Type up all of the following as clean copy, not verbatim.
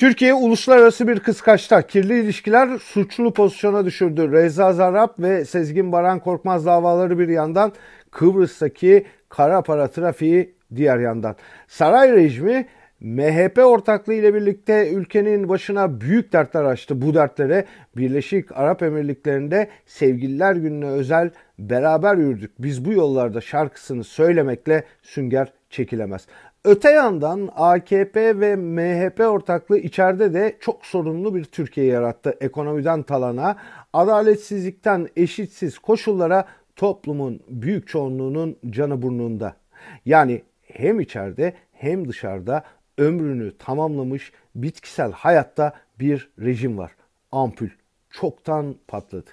Türkiye uluslararası bir kıskaçta. Kirli ilişkiler suçlu pozisyona düşürdü. Reza Zarrab ve Sezgin Baran Korkmaz davaları bir yandan, Kıbrıs'taki kara para trafiği diğer yandan. Saray rejimi MHP ortaklığı ile birlikte ülkenin başına büyük dertler açtı. Bu dertlere Birleşik Arap Emirlikleri'nde Sevgililer Günü'ne özel beraber yürüdük. Biz bu yollarda şarkısını söylemekle sünger çekilemez. Öte yandan AKP ve MHP ortaklığı içeride de çok sorunlu bir Türkiye yarattı. Ekonomiden talana, adaletsizlikten eşitsiz koşullara, toplumun büyük çoğunluğunun canı burnunda. Yani hem içeride hem dışarıda ömrünü tamamlamış bitkisel hayatta bir rejim var. Ampul çoktan patladı.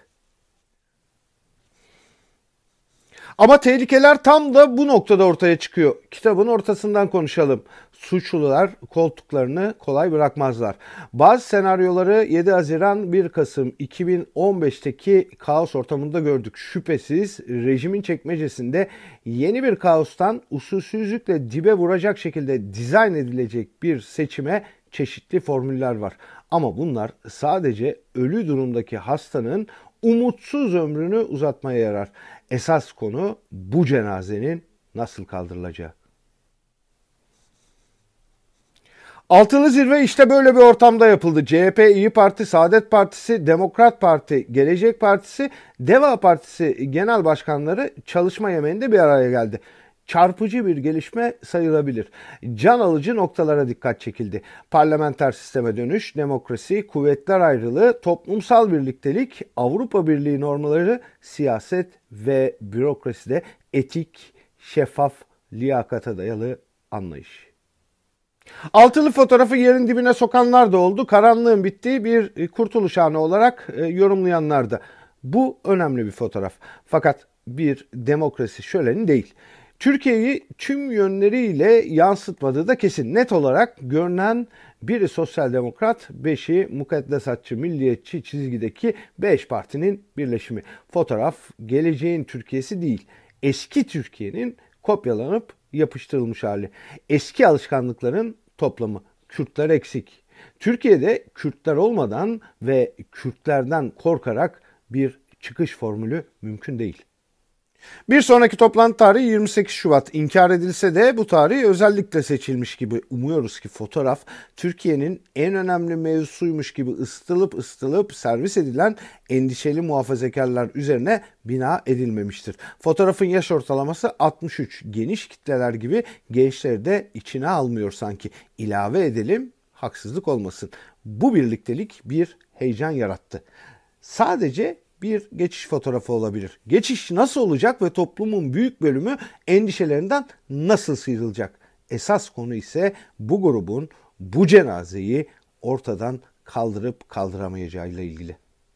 Ama tehlikeler tam da bu noktada ortaya çıkıyor. Kitabın ortasından konuşalım. Suçlular koltuklarını kolay bırakmazlar. Bazı senaryoları 7 Haziran 1 Kasım 2015'teki kaos ortamında gördük. Şüphesiz rejimin çekmecesinde yeni bir kaostan usulsüzlükle dibe vuracak şekilde dizayn edilecek bir seçime çeşitli formüller var. Ama bunlar sadece ölü durumdaki hastanın umutsuz ömrünü uzatmaya yarar. Esas konu bu cenazenin nasıl kaldırılacağı. Altılı zirve işte böyle bir ortamda yapıldı. CHP, İyi Parti, Saadet Partisi, Demokrat Parti, Gelecek Partisi, Deva Partisi genel başkanları çalışma yemeğinde bir araya geldi. Çarpıcı bir gelişme sayılabilir. Can alıcı noktalara dikkat çekildi. Parlamenter sisteme dönüş, demokrasi, kuvvetler ayrılığı, toplumsal birliktelik, Avrupa Birliği normları, siyaset ve bürokraside etik, şeffaf, liyakata dayalı anlayış. Altılı fotoğrafı yerin dibine sokanlar da oldu. Karanlığın bittiği bir kurtuluş anı olarak yorumlayanlar da. Bu önemli bir fotoğraf. Fakat bir demokrasi şöleni değil. Türkiye'yi tüm yönleriyle yansıtmadığı da kesin. Net olarak görünen biri sosyal demokrat, beşi mukaddesatçı, milliyetçi çizgideki 5 partinin birleşimi. Fotoğraf geleceğin Türkiye'si değil, eski Türkiye'nin kopyalanıp yapıştırılmış hali. Eski alışkanlıkların toplamı. Kürtler eksik. Türkiye'de Kürtler olmadan ve Kürtlerden korkarak bir çıkış formülü mümkün değil. Bir sonraki toplantı tarihi 28 Şubat. İnkar edilse de bu tarih özellikle seçilmiş gibi. Umuyoruz ki fotoğraf Türkiye'nin en önemli mevzusuymuş gibi ısıtılıp servis edilen endişeli muhafazakarlar üzerine bina edilmemiştir. Fotoğrafın yaş ortalaması 63. Geniş kitleler gibi gençleri de içine almıyor sanki. İlave edelim, haksızlık olmasın. Bu birliktelik bir heyecan yarattı. Sadece bir geçiş fotoğrafı olabilir. Geçiş nasıl olacak ve toplumun büyük bölümü endişelerinden nasıl sıyrılacak? Esas konu ise bu grubun bu cenazeyi ortadan kaldırıp kaldıramayacağıyla ilgili.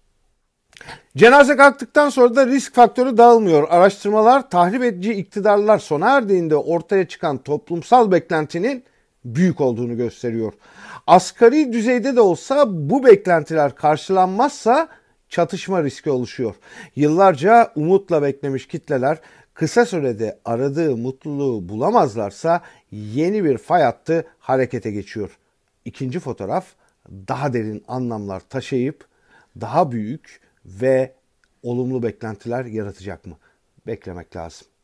Cenaze kalktıktan sonra da risk faktörü dağılmıyor. Araştırmalar tahrip edici iktidarlar sona erdiğinde ortaya çıkan toplumsal beklentinin büyük olduğunu gösteriyor. Asgari düzeyde de olsa bu beklentiler karşılanmazsa çatışma riski oluşuyor. Yıllarca umutla beklemiş kitleler kısa sürede aradığı mutluluğu bulamazlarsa yeni bir fay hattı harekete geçiyor. İkinci fotoğraf daha derin anlamlar taşıyıp daha büyük ve olumlu beklentiler yaratacak mı? Beklemek lazım.